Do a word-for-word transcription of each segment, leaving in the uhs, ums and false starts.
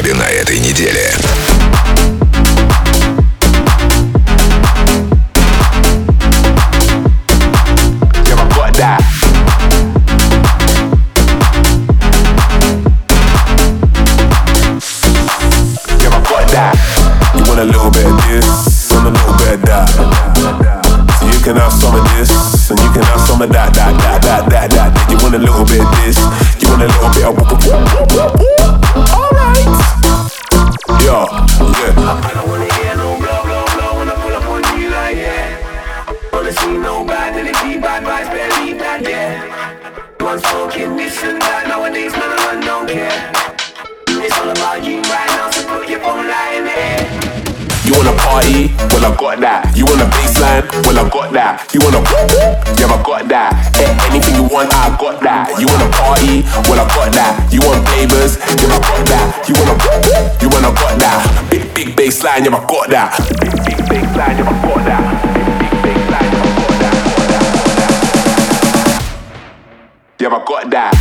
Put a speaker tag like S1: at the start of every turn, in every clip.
S1: клабе на этой неделе.
S2: You want a little bit of this and a little bit of that. So you can have some of this and you can have some of that, that, that, that, that, that. You want a little bit of this, you want a little bit of alright. Yo, yeah. I don't wanna hear no blow, blow, blow when I pull up on you like yeah. Wanna see no bad, then it be bad vibes, better leave that yeah. One's talking this and that, nowadays man I don't care. It's all about you right now, so put your phone light in the air. You wanna party? Well I got that. You want a baseline? Well I got that. You wanna yeah I got that. Hey, anything you want, I got that. You wanna party? Well I got that. You want flavors? Yeah I got that. You wanna you wanna got that. Big big baseline, yeah I got that. Big big baseline, yeah I got that. Big big baseline, yeah I got that. Yeah I got that.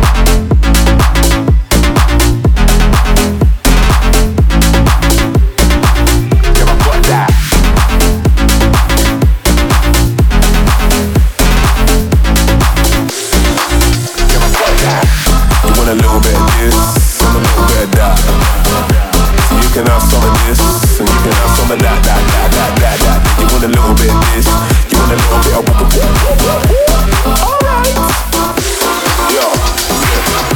S2: A little bit of this and a little bit of that. So you can have some of this and you can have some of that, that, that, that, that, that. You want a little bit of this, you want a little bit of alright. Yo, yeah.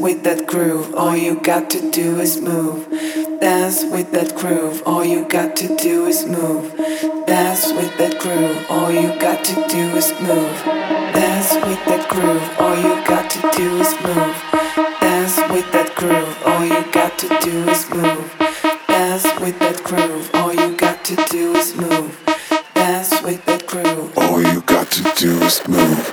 S1: with that groove, all you got to do is move. Dance with that groove, all you got to do is move. Dance with that groove, all you got to do is move. Dance with that groove, all you got to do is move. Dance with that groove, all you got to do is move. Dance with that groove, all you got to do is move. Dance with that groove,
S3: all you got to do is move.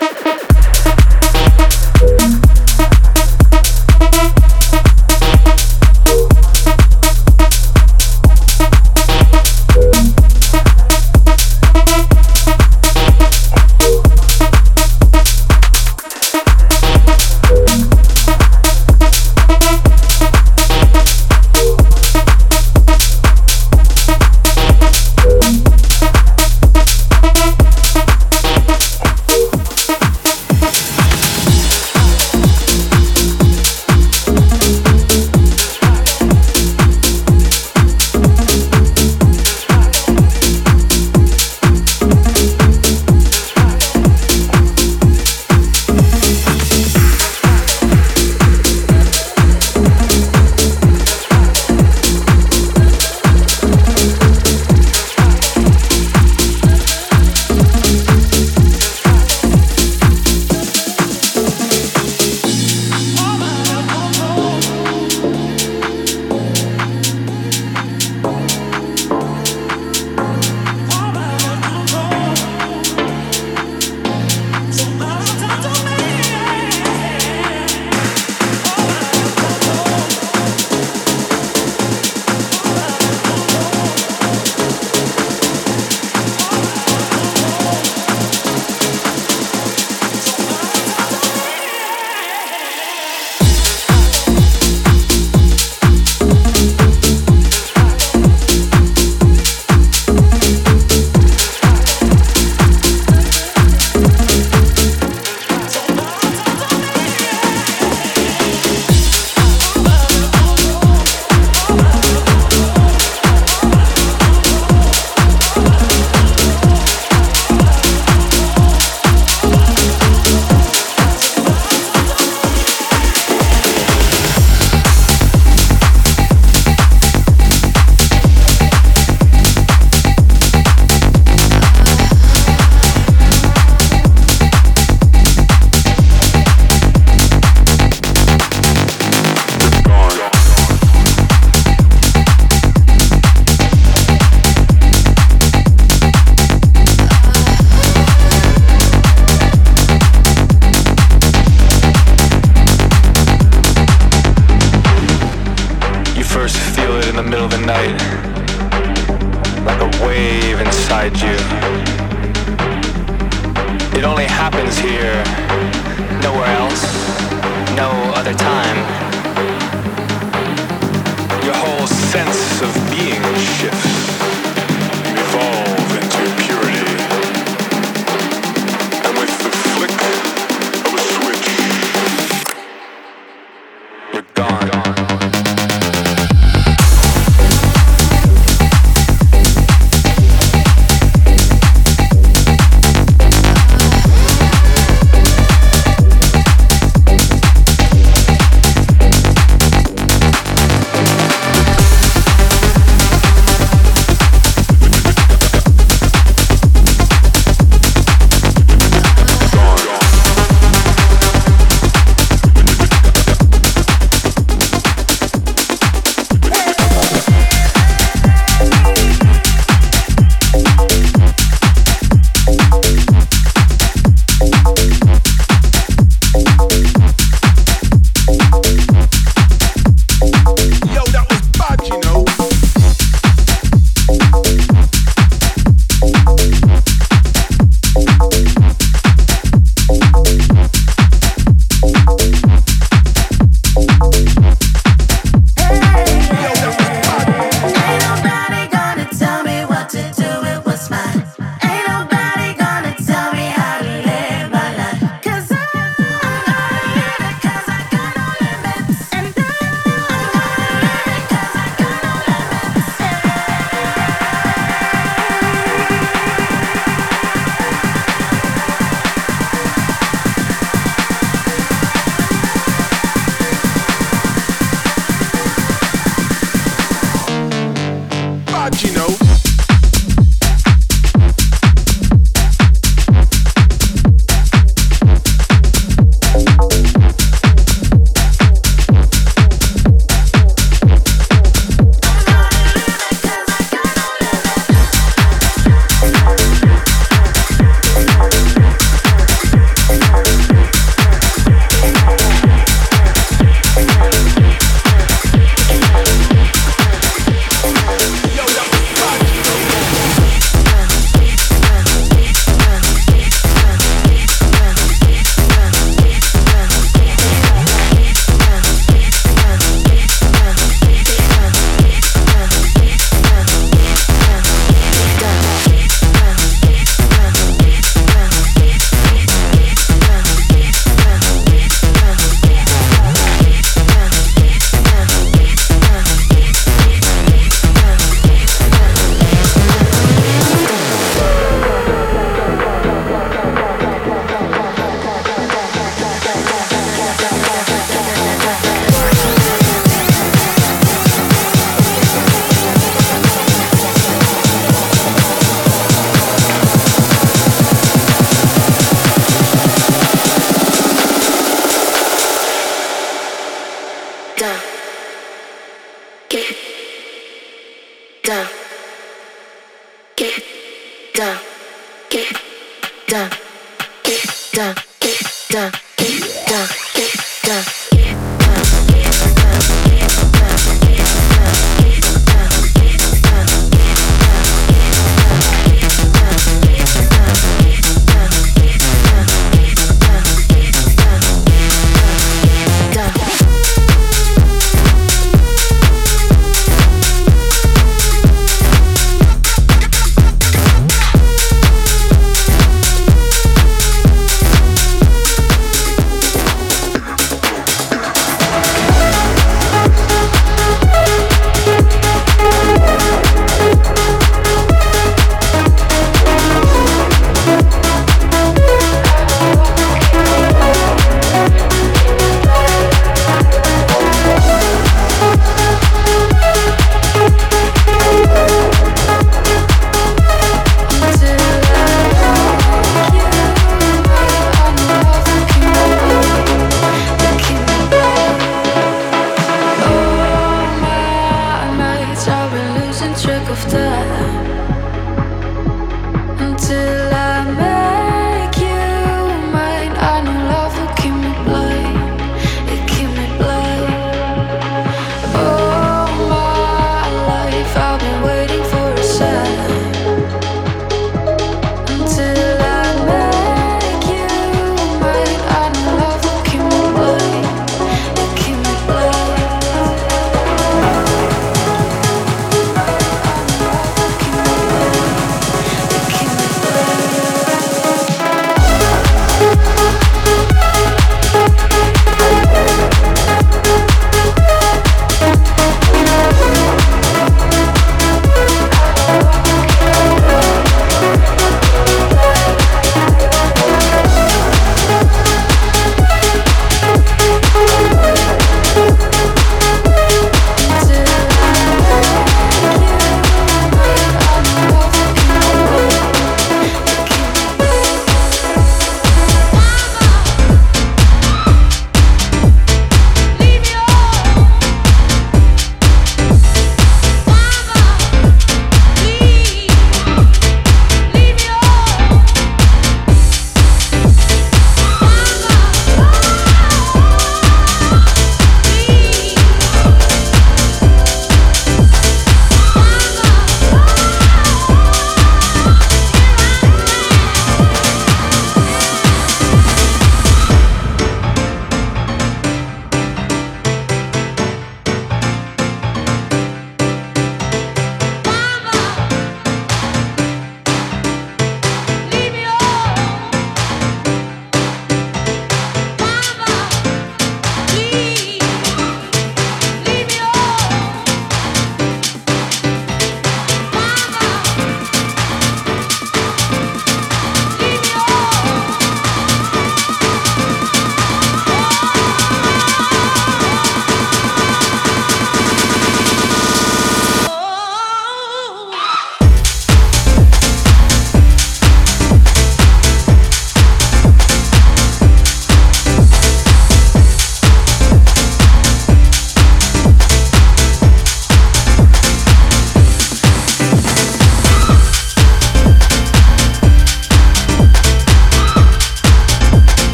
S4: down, get down.